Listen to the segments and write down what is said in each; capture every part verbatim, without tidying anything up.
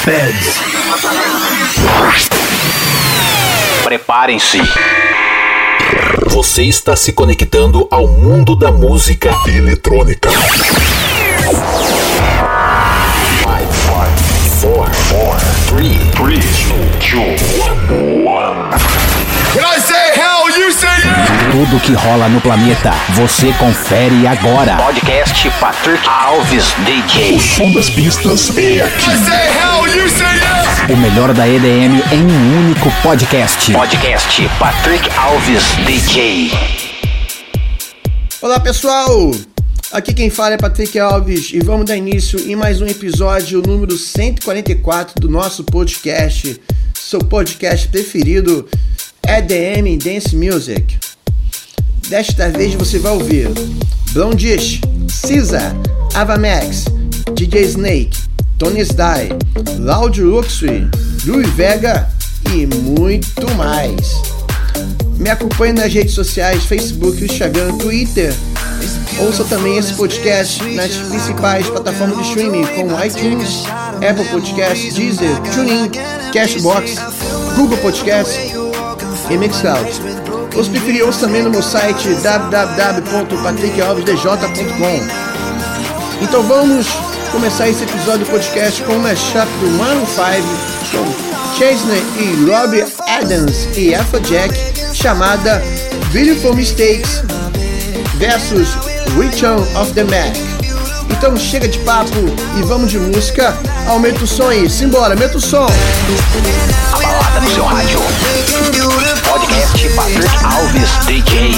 Feds. Preparem-se. Você está se conectando ao mundo da música eletrônica. four, three, two, one. When I say hell, you say yeah! Tudo que rola no planeta, você confere agora. Podcast Patrick Alves D J. O som das pistas é aqui. I say hell, you say yeah! O melhor da E D M em um único podcast. Podcast Patrick Alves D J. Olá pessoal, aqui quem fala é Patrick Alves e vamos dar início em mais um episódio número cento e quarenta e quatro do nosso podcast, seu podcast preferido, E D M Dance Music. Desta vez você vai ouvir Blondish, Caesar, Avamax, D J Snake, Tony Sdy, Loud Luxury, Louis Vega e muito mais. Me acompanhe nas redes sociais, Facebook, Instagram, Twitter. Ouça também esse podcast nas principais plataformas de streaming como iTunes, Apple Podcasts, Deezer, TuneIn, Cashbox, Google Podcasts e Mixcloud. Ou se preferir, ouça também no meu site w w w ponto patrick alves d j ponto com. Então vamos começar esse episódio do podcast com uma mashup do Maroon five com Chesney e Robbie Adams e Afrojack, chamada Beautiful Mistakes versus Return of the Mac. Então chega de papo e vamos de música. Aumenta o som aí, simbora, aumenta o som. A balada no seu rádio. Podcast Patrick Alves D J.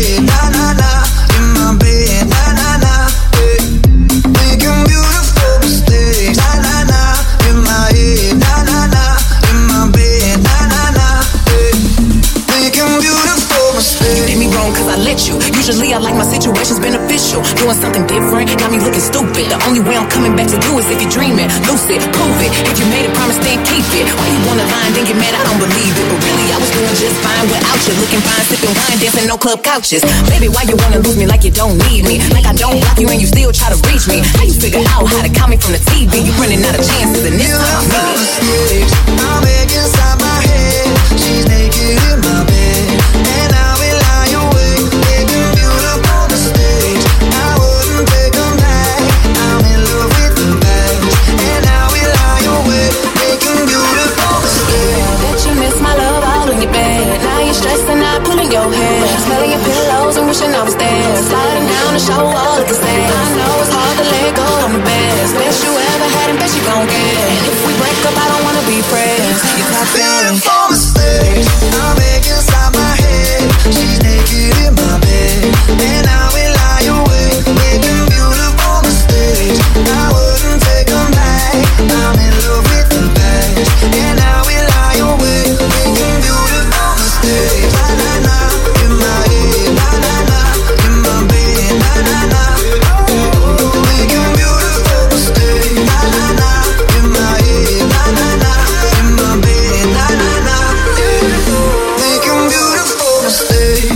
You did me wrong cause I let you. Usually I like my situations beneficial. Doing something different, got me looking stupid. The only way I'm coming back to you is if you're dreaming. Lucid, prove it. If you made a promise, then keep it. Why you wanna lie and then get mad? I don't believe it. But really I was doing just fine without you. Looking fine, sipping wine, dancing no club couches. Baby, why you wanna lose me like you don't need me? Like I don't block you and you still try to reach me. How you figure out how to call me from the T V? You running out of chances and this time I mean it. I'm back inside my head. She's naked in my bed. And I will lie awake, making beautiful mistakes. I wouldn't take them back. I'm in love with the past. And I will lie awake, making beautiful mistakes. Bet you miss my love all in your bed. Now you're stressing out, pulling your hair, smelling your pillows and wishing I was there. Sliding down the show all looking sad. I know it's hard to let go, I'm the best. Best you ever had and best you gon' get. And if we break up, I don't wanna be friends. You got feelings. Beautiful mistakes. I'm back inside my head. She's naked in my bed. And I will lie awake, making beautiful mistakes. I wouldn't take them back. I'm in love with the past. And I will lie awake, making beautiful mistakes. Na na na, in my head. Na na na, in my bed. Na na na, making beautiful mistakes. Na na na, in my head. Na na na, in my bed. Na na na, making beautiful mistakes.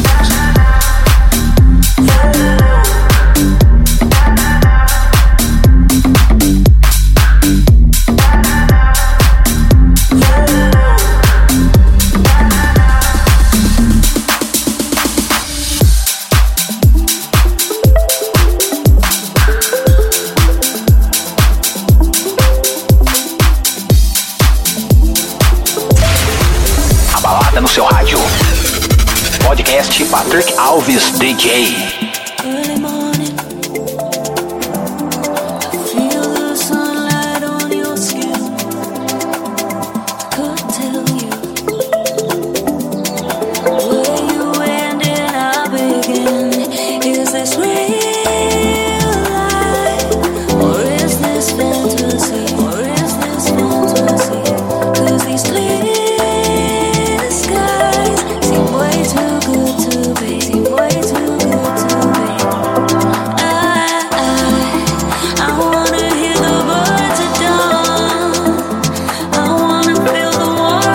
A balada no seu rádio. Podcast Patrick Alves D J. Early morning, I feel the sunlight on your skin. Could tell you where you end and I begin. Is this real life or is this fantasy? Or is this fantasy? 'Cause these clear skies seem way too good to be. Seem way too good to be. I, I, I wanna hear the birds at dawn. I wanna feel the warmth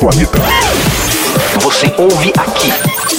planeta. Você ouve aqui.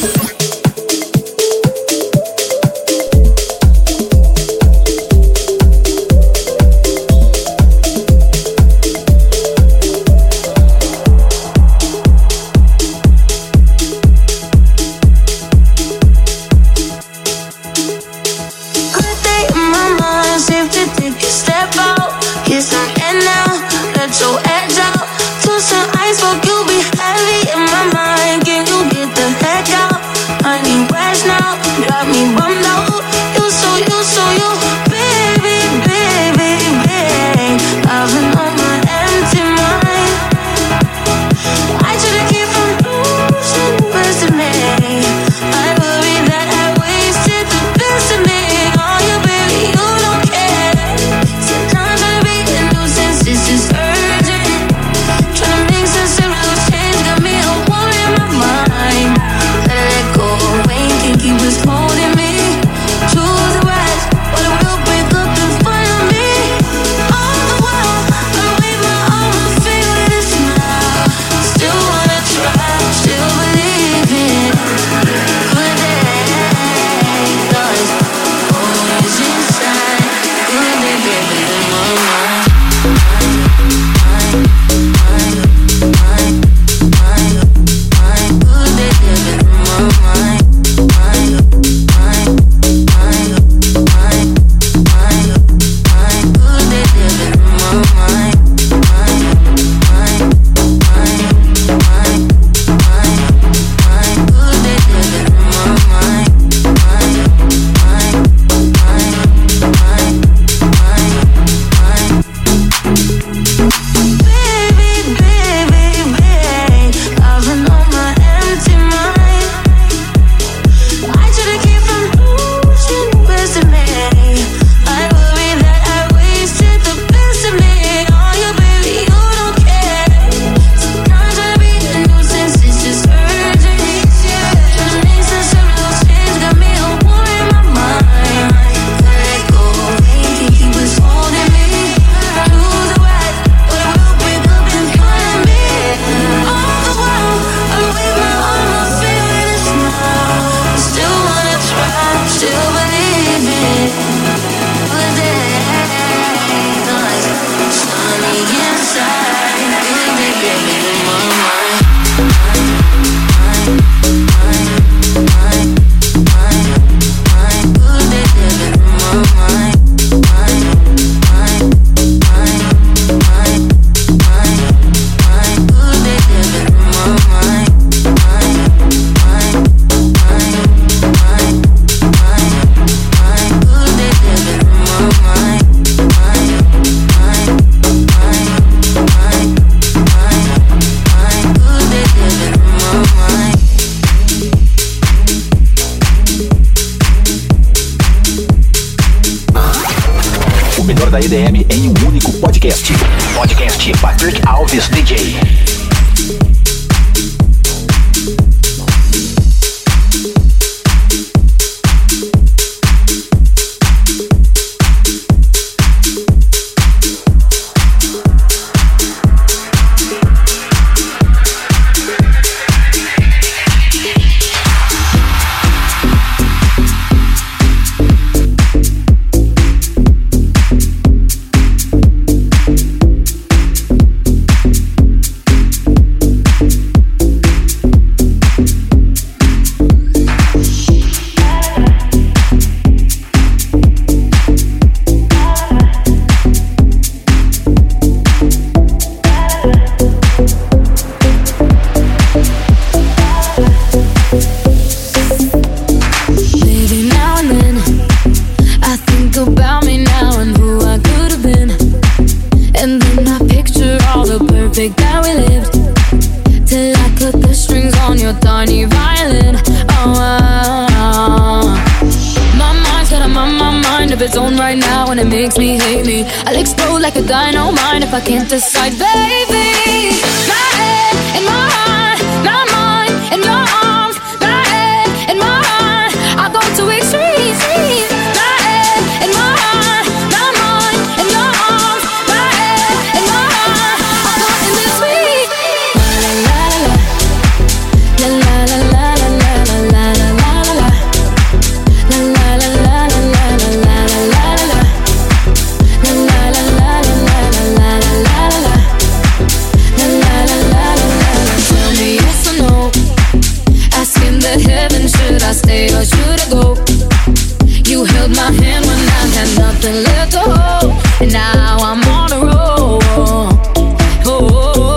da E D M em um único podcast. Podcast Patrick Alves D J. I can't decide, baby. My head and my heart, my mind and your arms. My head and my heart, I go to extremes. My head and my heart, my mind and your arms. My head and my heart, I go in this week. La la la nothing left to hold, and now I'm on a roll. Oh,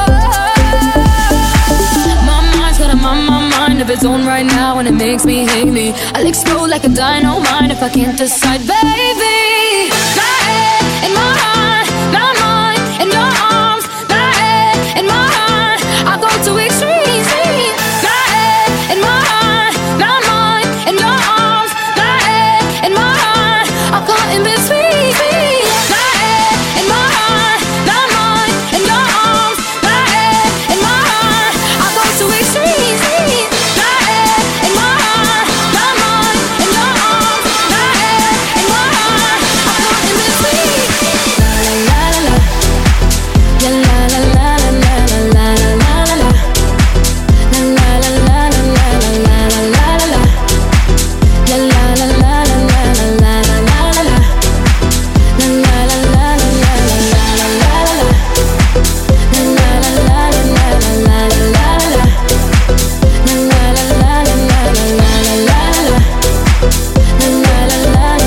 my mind's got a mind, my mind of its own right now, and it makes me hate me. I'll explode like a dynamite if I can't decide, baby. My head in my heart, my mind in your arms. My head in my heart, I go to extremes. My head in my heart, my mind in your arms. My head in my heart, I'm caught in between. My head in my heart, my mind in your arms. My head in my heart, I go to extremes. My head in my heart, my mind in your arms. My head in my heart, I'm caught in between. La la la la, yeah la la la la la la la la la la. La la la la la la la la la la. La la la la la la la la la la la. La la la la la la la la la la. La la la la la la la la la la. La la la la la la la la la. La la la la la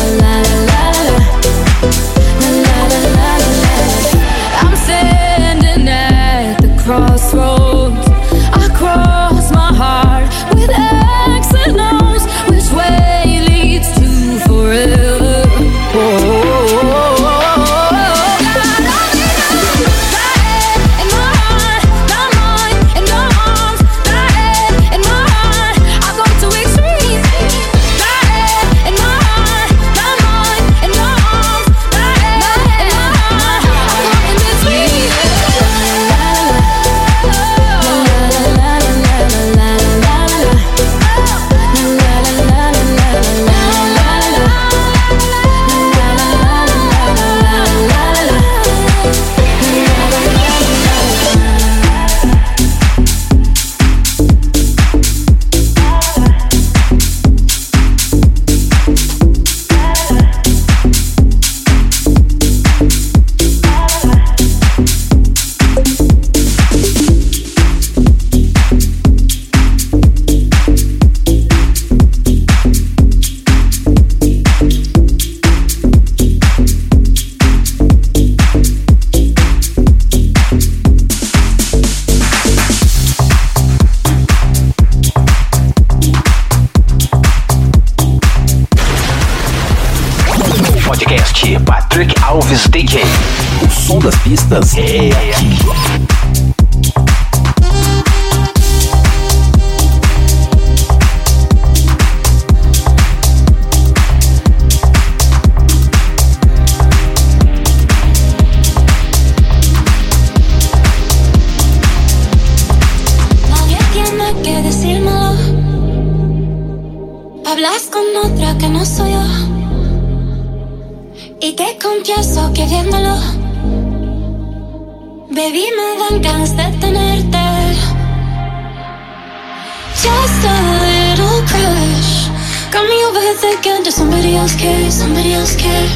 la la la. I'm standing at the crossroads. I cross my heart with X and O's. Which way leads to forever? Oh, Podcast Patrick Alves D J. O som das pistas é aqui. Nadie tiene que decírmelo. Hablas con otra que no soy yo. Y te confieso que viéndolo, baby, me dan ganas de tenerte. Just a little crush got me over thinking, does somebody else care, somebody else care?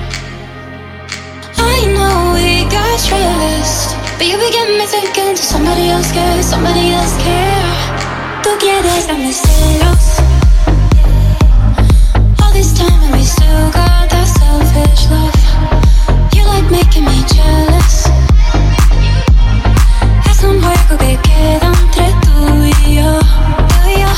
I know we got trust, but you be getting me thinking, does somebody else care, somebody else care? Tú quieres darme celos all this time and we still got that selfish love. You like making me jealous. Es un juego que queda entre tú y yo, tú y yo.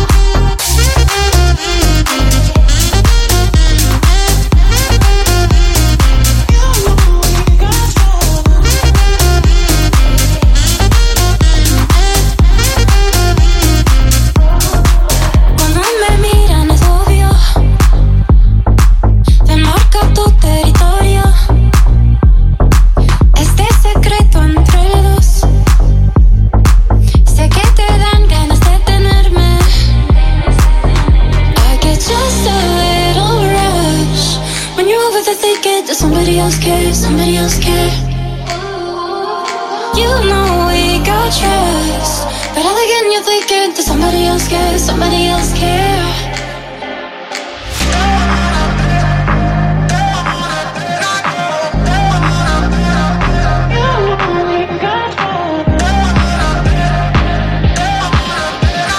Cuando me miran es obvio, te marca tu territorio. Este secreto entre dos, sé que te dan ganas de tenerme. I get just a little rush when you're over the thinking, does somebody else care, somebody else care? You know we got trust, but all again you're thinking, does somebody else care, somebody else care?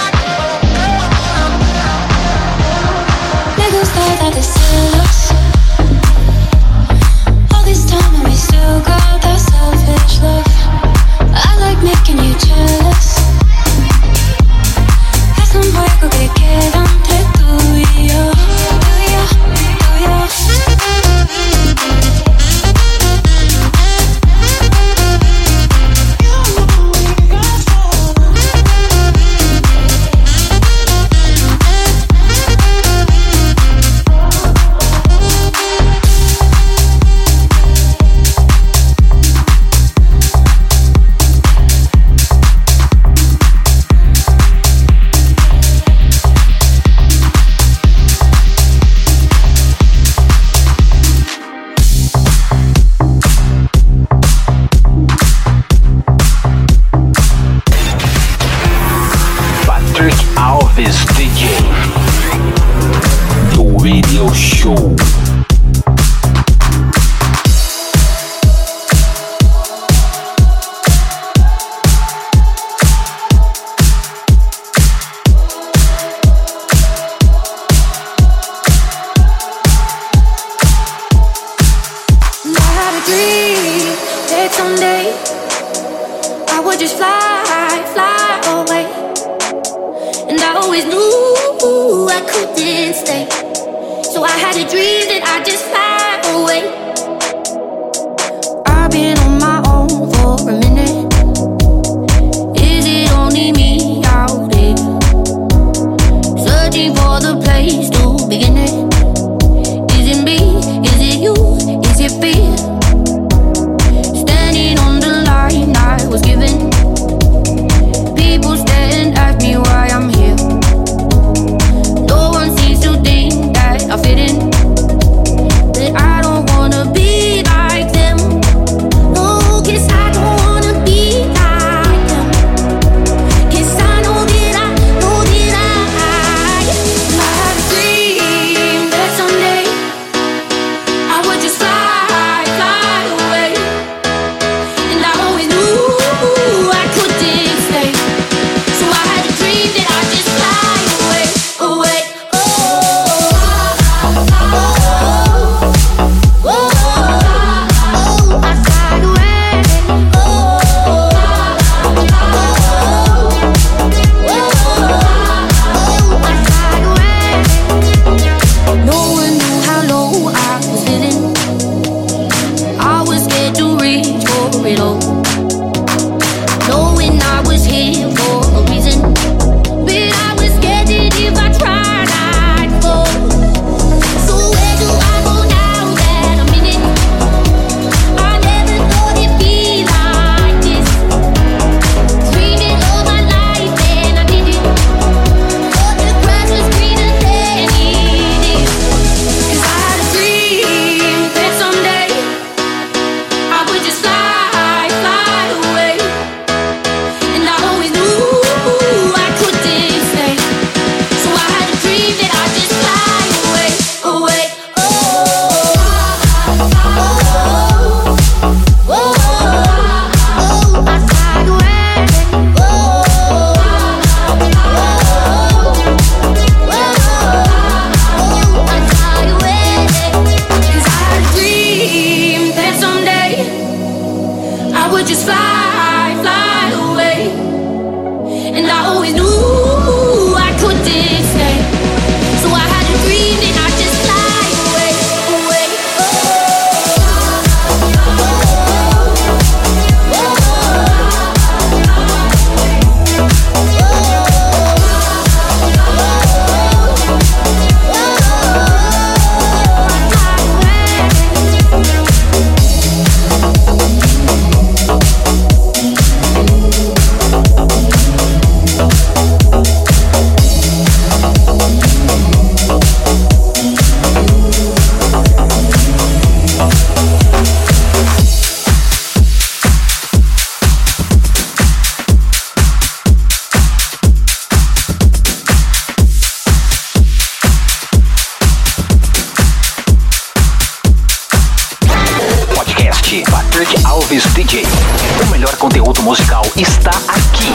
Me gusta darte celos that someday I would just fly, fly away. And I always knew I couldn't stay, so I had a dream that I'd just fly away. I've been on my own for a minute. Is it only me out here, searching for the place to begin it? Is it me? Is it you? Is it fear? Standing on the line I was given. People stare and ask me why I'm here. No one seems to think that I fit in, that I don't wanna be like them. No, guess I don't wanna be like them. Guess I know that I, know that I I had a dream that someday I would just fly, fly away. And I always knew I couldn't stay, so I had a dream that I'd just fly away, away. Oh, oh, oh, oh, oh, I fly away. Oh, oh, oh, I fly away. No one knew how low I was feeling. I was scared to reach for it all, knowing I was here for a reason. But I was scared that if I tried, I'd fall. So where do I go now that I'm in it? I never thought it'd be like this. Dreamed it all my life and I did it. Thought the grass was greener than it is. 'Cause I had a dream that someday I would just fly, fly away. And I always knew I couldn't stay, so I had a dream that I'd just fly away, away. Oh, oh, oh, oh, oh, I fly away. Oh, oh, oh, I fly away. 'Cause I had a dream that someday I would just fly, fly away. And I always knew I couldn't stay, so I had a dream that I'd just fly away, away. Oh, oh, Podcast Patrick Alves D J. O melhor conteúdo musical está aqui.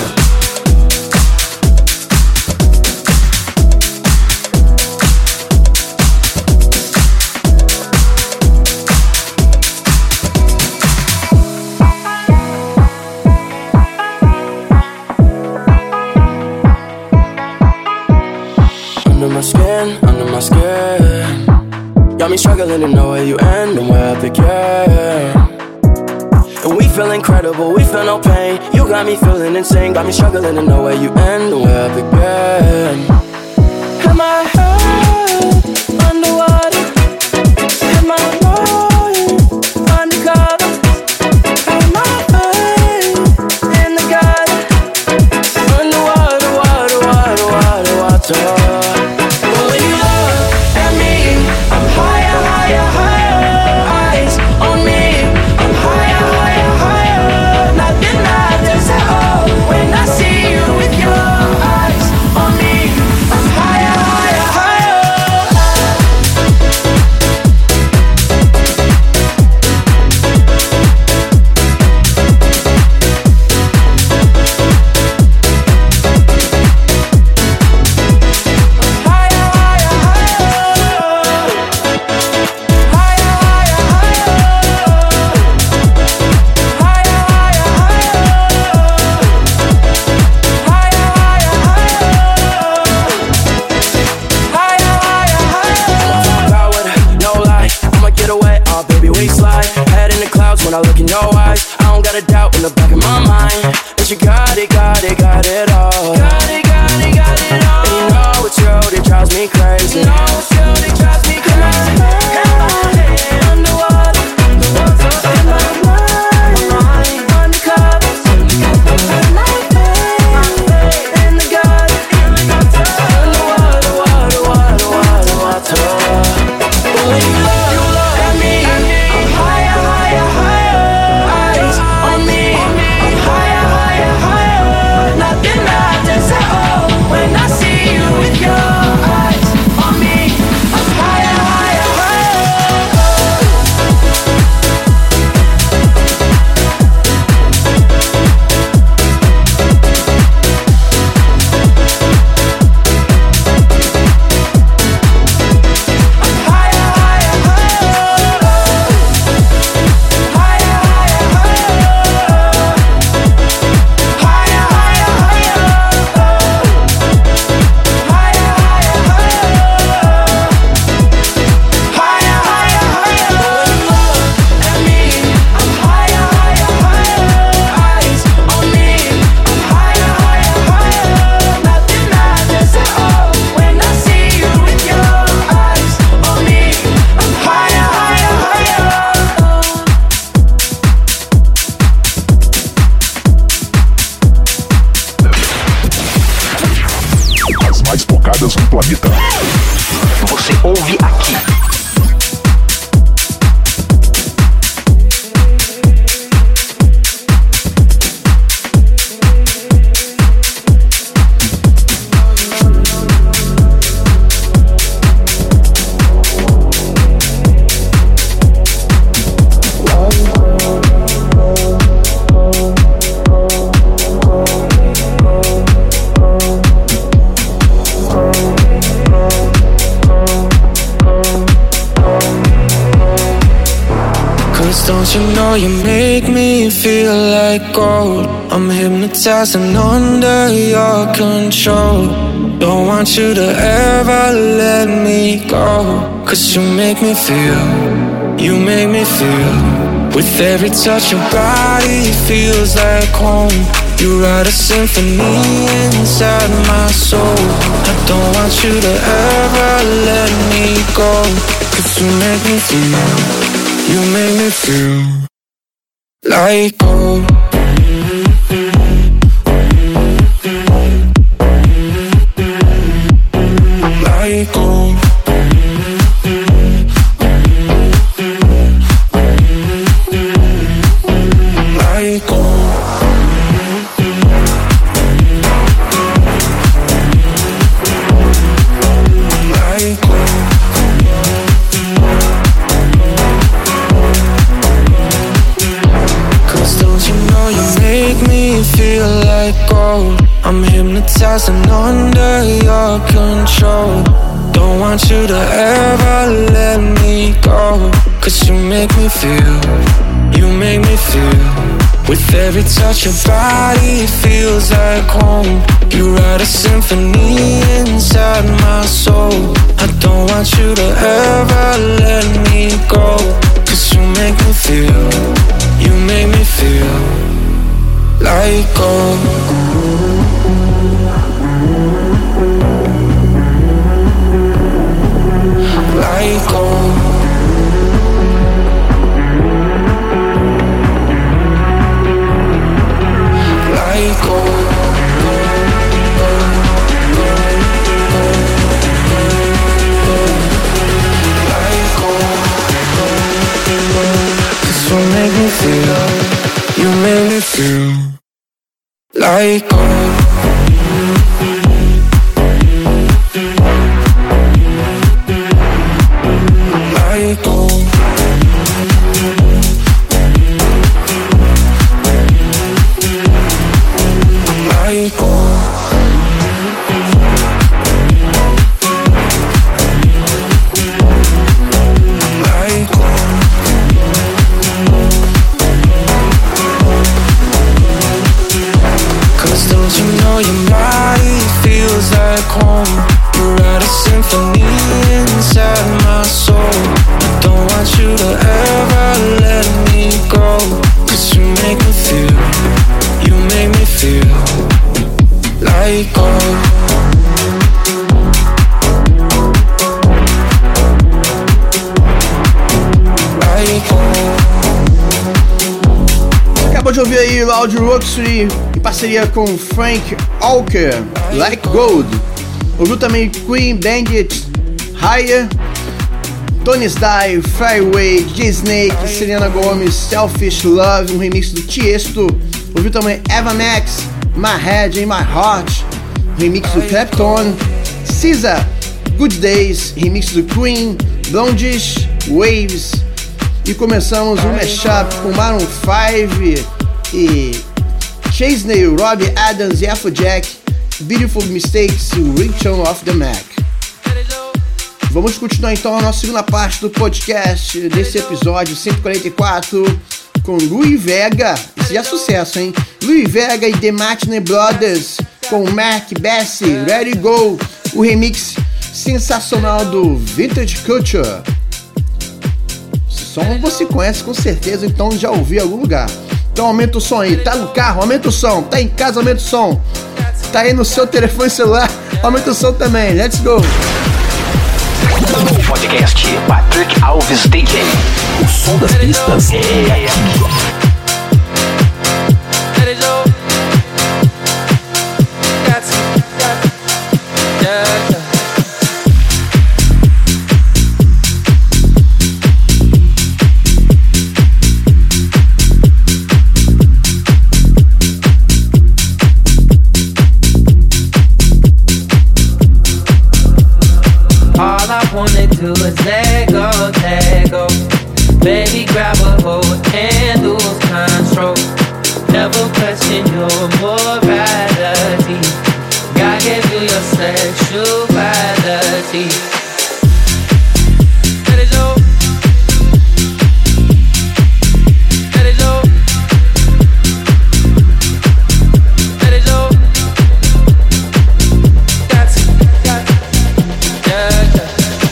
Under my skin, under my skin. Got me struggling to know where you end and where I begin. And we feel incredible, we feel no pain. You got me feeling insane. Got me struggling to know where you end and where I begin. Am I head underwater? Am I lying undercover? Am I pain in the gutter? Underwater, water, water, water, water. But when you look at me, I'm higher, higher, higher. Eyes on me, I'm higher, higher, higher. Nothing matters at all when I see you with your eyes on me. I'm higher, higher, higher. way you slide, head in the clouds when I look in your eyes. I don't got a doubt in the back of my mind that you got it, got it, got it all. Got it, got it, got it all. And you know it's you that drives me crazy. You know it's you that drives me crazy. Held my hand underwater, the water in my mind, my mind undercover. Like faith in the God, in the water, water, water, water, water, water. But when you look, you look at me, I'm higher, higher, higher. Eyes on me, I'm higher, higher, higher. Nothing matters at all when I see you with your eyes on me. I'm higher, higher, higher. As mais tocadas no planeta. Você ouve aqui. Don't you know you make me feel like gold? I'm hypnotized and under your control. Don't want you to ever let me go. Cause you make me feel, you make me feel. With every touch your body feels like home. You write a symphony inside my soul. I don't want you to ever let me go. Cause you make me feel, you make me feel like gold. Like gold. Like gold. Like gold. Feel like gold. I'm hypnotized and under your control. Don't want you to ever let me go. Cause you make me feel, you make me feel. With every touch your body feels like home. You write a symphony inside my soul. I don't want you to ever let me go. Cause you make me feel, you make me feel like gold. Like gold. Like gold. Like gold. Cause you make me feel, you make me feel like gold. Like gold. Like gold. Like gold. Cause don't you ouvir aí Loud Roxy em parceria com Frank Walker, Like Gold. Ouviu também Queen Bandit, Higher, Tony Style, Fireway, D J Snake, Selena Gomez, Selfish Love, um remix do Tiesto. Ouviu também Eva Max, My Head in My Heart, remix do Clapton. Caesar, Good Days, remix do Queen, Blondish, Waves. E começamos um mashup com Maroon five e Chesney, Robbie Adams e Afrojack, Beautiful Mistakes e Return of the Mac. Vamos continuar então a nossa segunda parte do podcast desse episódio cento e quarenta e quatro com Louie Vega. Esse já é sucesso, hein? Louie Vega e The Martinez Brothers com Mac Bessie, Ready Go, o remix sensacional do Vintage Culture. Esse som você conhece com certeza, então já ouviu em algum lugar. Então aumenta o som aí, tá no carro, aumenta o som, tá em casa, aumenta o som, tá aí no seu telefone celular, aumenta o som também, let's go! Podcast Patrick Alves D J. O som das pistas é aqui. All I wanna do is let go, let go. Baby, grab a hold and lose control. Never question your morality. God gave you your sexuality. Let it go. Let it go. Let it go. Got to, got to. Yeah, yeah.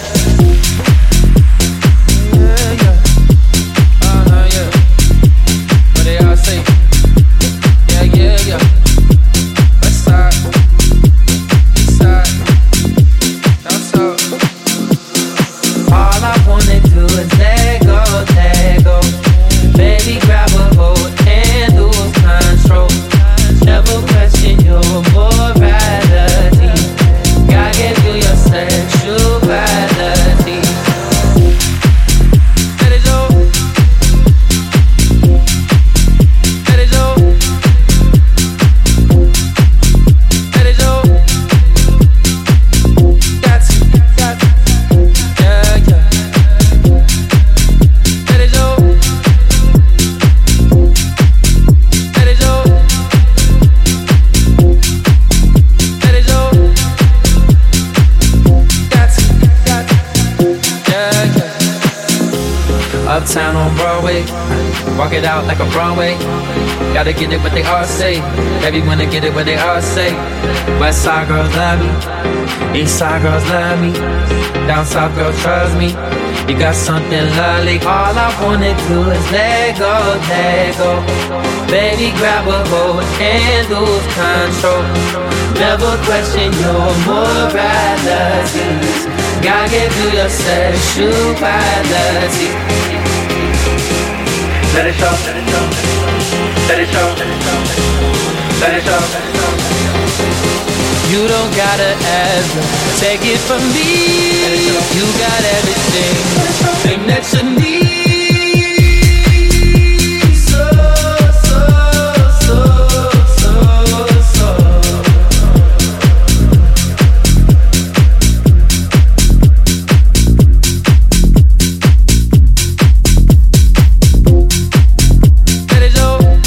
Yeah, yeah. Uh-huh, yeah. What they all say? Yeah, yeah, yeah. West side, east side, down south. All I wanna do is let go, let go. Baby, grab a hold and lose control. Never question your morality. God gave you your sexuality. Let it go. Let it go. Let it go. Got to, got to. Yeah, yeah. Let it go. Let it go. Let it go. Got to, got to. Yeah, yeah. Uptown on Broadway, walk it out like a Broadway. Gotta get it what they all say. Baby wanna get it what they all say. West side girls love me, east side girls love me, down south girls trust me. You got something lovely. All I wanna do is let go, let go. Baby, grab a hold and lose control. Never question your morality. God gave you your sexuality. Let it show, let it show, let it show, let it show. You don't gotta ever take it from me. You got everything that you need. So, so, so, so, so. Let it go.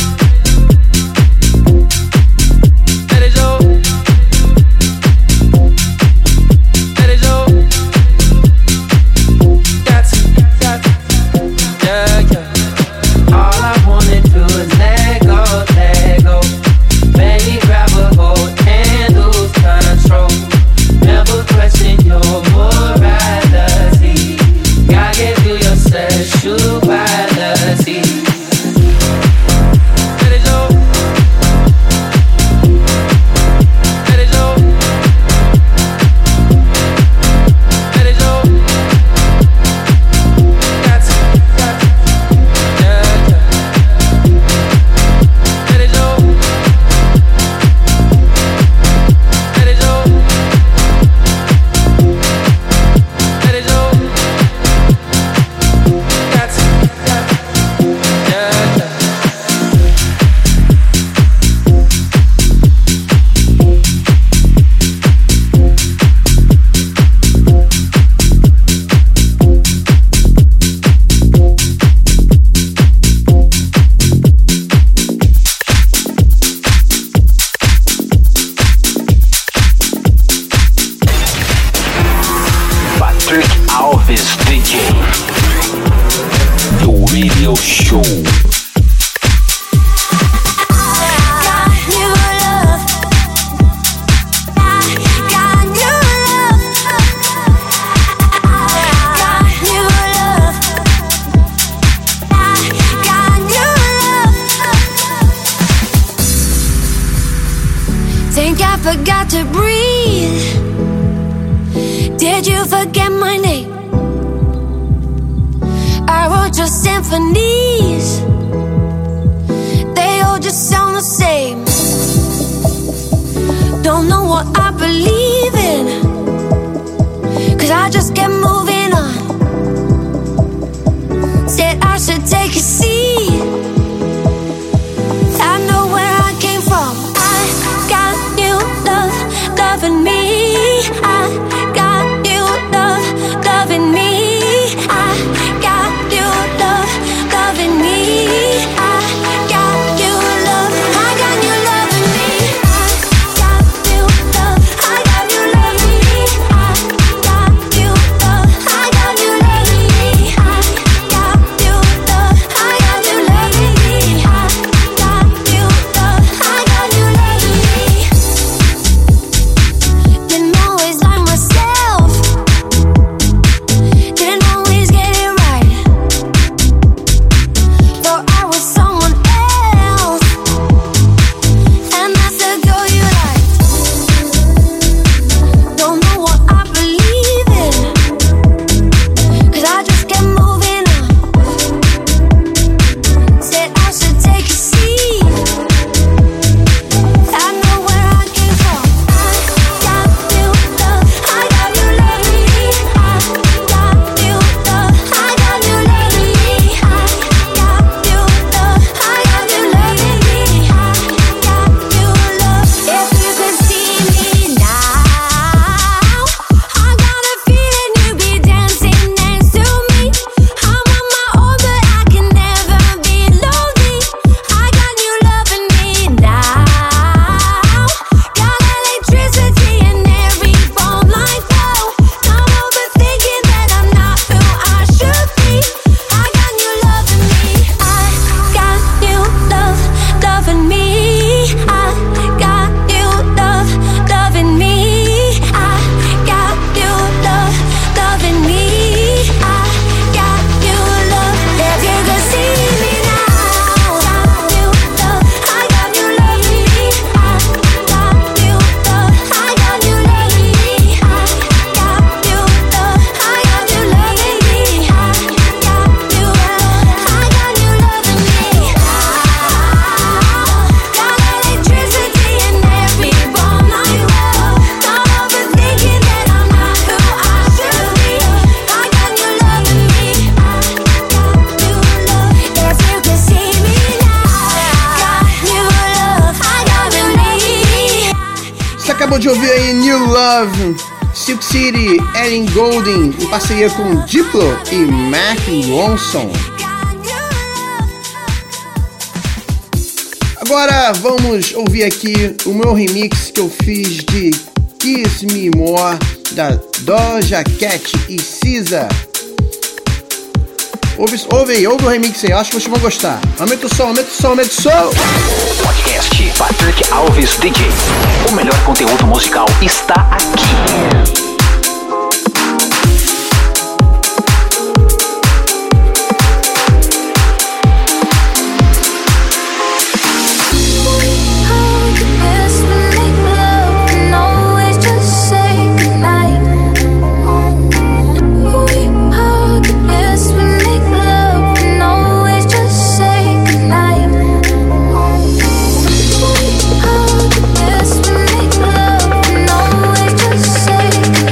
Let it go. Let it go. Got to, got to. Radio Show. Think I forgot to breathe. Did you forget my name? I wrote your symphonies. They all just sound the same. Don't know what I believe in, 'cause I just kept moving on. Said I should take a seat. I know where I came from. I got new love, loving me. I got new love, loving me. I got new love, loving me. I got new love, I got new loving me. I got new love, I got new loving me. I got new love, I got new loving me. I got new love, I got new loving me. I got new love, I got new loving me. Didn't always like myself, didn't always get it right. Thought I was someone else, and that's the girl you like. Don't know what I believe in, 'cause I just kept moving on. Said I should take a seat. I know where I came from. I got new love, I got new loving me. I got new love, I got new loving me. I got new love, I got new loving me. I got new love. If you could see me now, I got a feeling you'd be dancing next to me. I'm on my own, but I can never be lonely. I got new loving me now. Got electricity in every bone like flow. I'm overthinking that I'm not who I should be. I got new loving me. I got new love, loving me. I got new love, loving me. I got new love, loving me. I got new love. If you could see me now, got new love, I got new loving me. I got new love, I got new loving me. I got new love, I got new loving me. I got new love, I got new loving me. Got electricity in every bone like love. I'm overthinking that I'm not who I should be. I got new loving me. I got new love. If you could see me now, got new love, I got new me. Você acabou de ouvir aí New Love, Silk City, Ellen Goulding, em parceria com Diplo e Mark Ronson. Agora vamos ouvir aqui o meu remix que eu fiz de Kiss Me More, da Doja Cat e S Z A. Ouve, ouve aí, ouve o remix aí, eu acho que vocês vão gostar. Aumenta o som, aumenta o som, aumenta o som! Podcast Patrick Alves D J. O melhor conteúdo musical está aqui. Say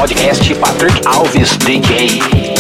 podcast Patrick Alves D J.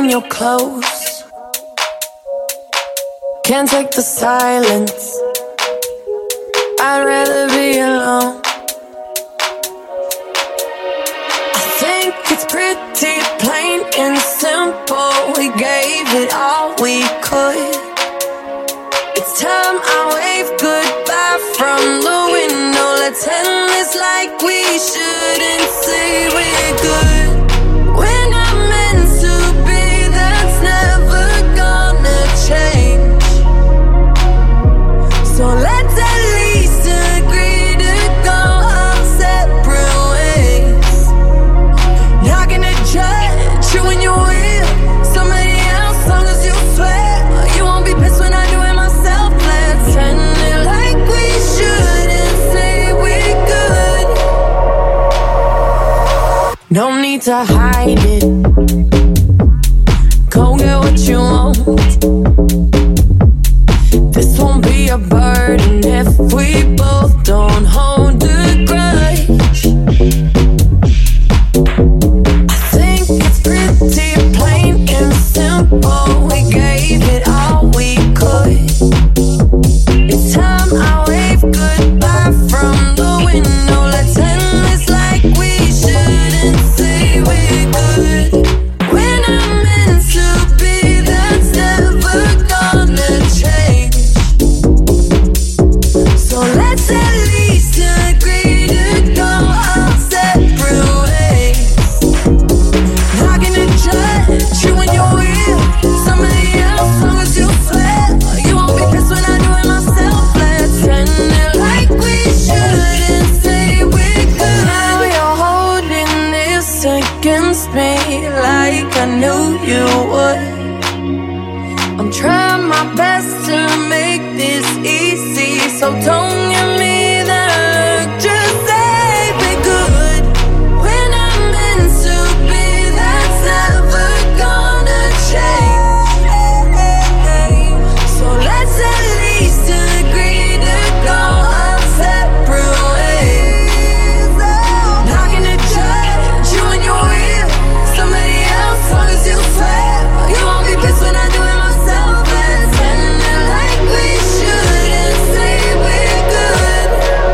when you're close. Can't take the silence. I'd rather be alone. I think it's pretty plain and simple. We gave it all we could. It's time I wave goodbye from the window. Let's end this like we shouldn't say we're good. We're not meant to be, that's never gonna change. So let's at least agree to go our separate ways. Not gonna judge you when you're with somebody else, long as you swear you won't be pissed when I do it myself. Let's end it like we should and say we're good. No need to hide it. Go get what you want. This won't be a burden if we both don't hold a grudge. I think it's pretty plain and simple. We gave it all we could. It's time I wave goodbye from the window. Let's end this like we shouldn't say we're good. We're not meant to be, that's never gonna change. So let's at least agree to go our separate ways. Not gonna judge you when you're with somebody else, long as you swear you won't be pissed when I do it myself. Let's end it like we should and say we're good. Now you're holding this against me like I knew you would. I'm trying my best to make this easy, so don't give me that look. Just say we're good. We're not meant to be, that's never gonna change. So let's at least agree to go our separate ways. Not gonna judge you when you're with somebody else, long as you swear you won't be pissed when I do it myself. Let's end it like we should and say we're good.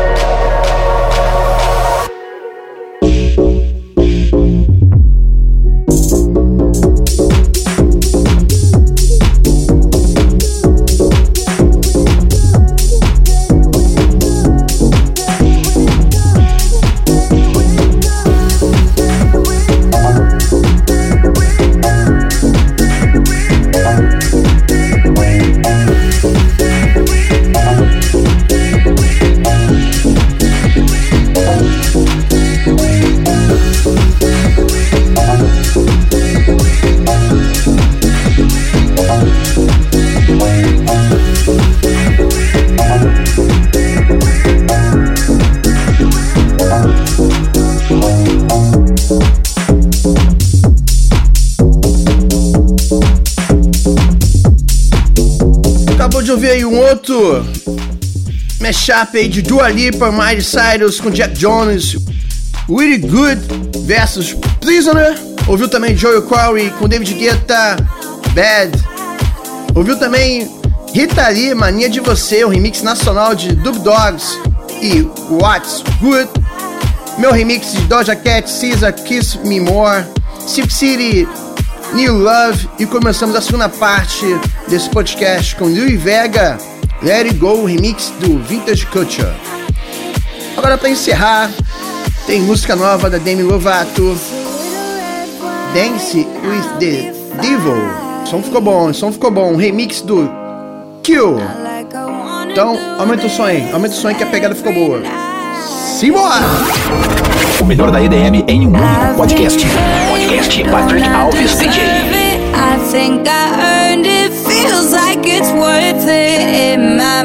Acabou de ouvir aí um outro mashup aí de Dua Lipa, Miley Cyrus com Jack Jones, Really Good versus Prisoner. Ouviu também Joel Corey com David Guetta, Bad. Ouviu também Rita Lee, Mania de Você, o remix nacional de Dub Dogs e What's Good. Meu remix de Doja Cat, Caesar, Kiss Me More, Silk City, New Love. E começamos a segunda parte desse podcast com Louie Vega, Let It Go, remix do Vintage Culture. Agora, para encerrar, tem música nova da Demi Lovato, Dance with the Devil. O som ficou bom, o som ficou bom. Um remix do Kill. Então, aumenta o som aí, aumenta o som aí que a pegada ficou boa. Simbora! O melhor da E D M em um único podcast. Podcast Patrick Alves D J. I think I earned it, feels like it's worth it in my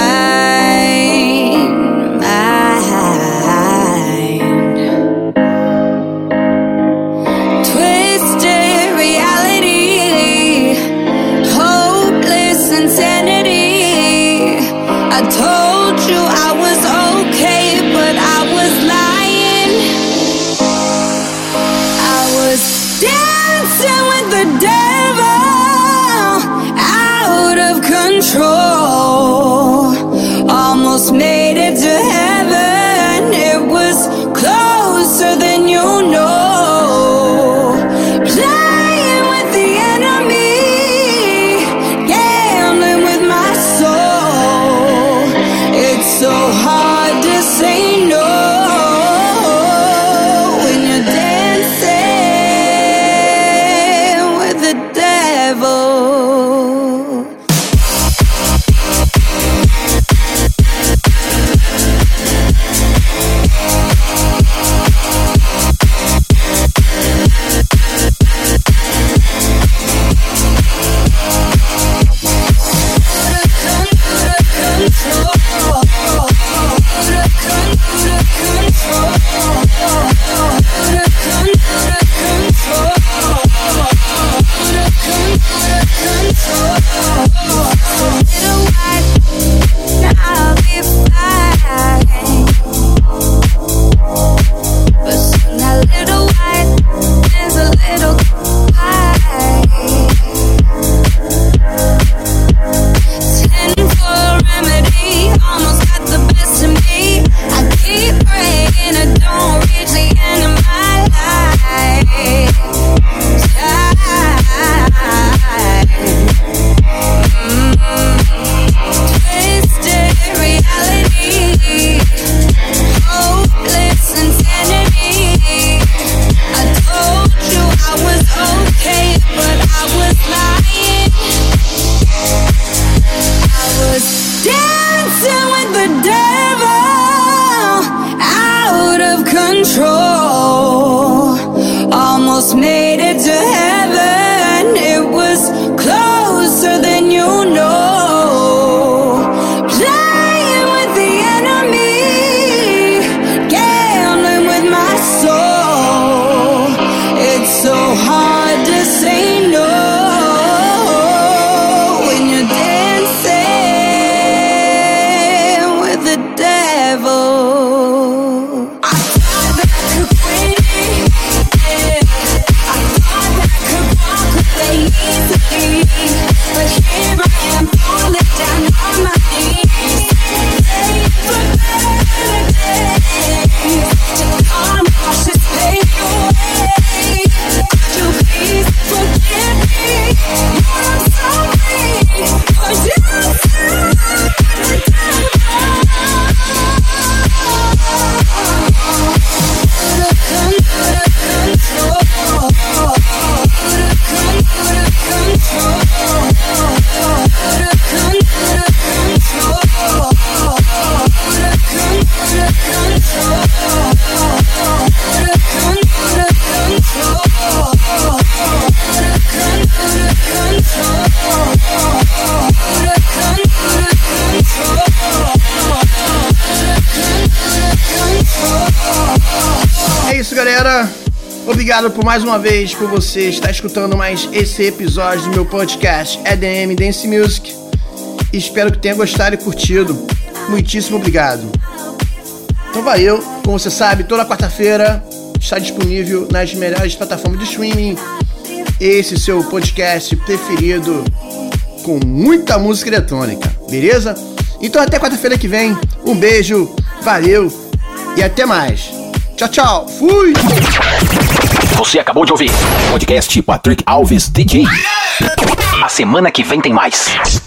mind, mind. Twisted reality, hopeless insanity. I told you I was okay, but I was lying. I was dancing with the devil. galera. Obrigado por mais uma vez por você estar escutando mais esse episódio do meu podcast E D M Dance Music. Espero que tenha gostado e curtido. Muitíssimo obrigado. Então valeu. Como você sabe, toda quarta-feira está disponível nas melhores plataformas de streaming esse seu podcast preferido com muita música eletrônica, beleza? Então até quarta-feira que vem. Um beijo, valeu e até mais. Tchau, tchau. Fui! Você acabou de ouvir podcast Patrick Alves D J. A semana que vem tem mais.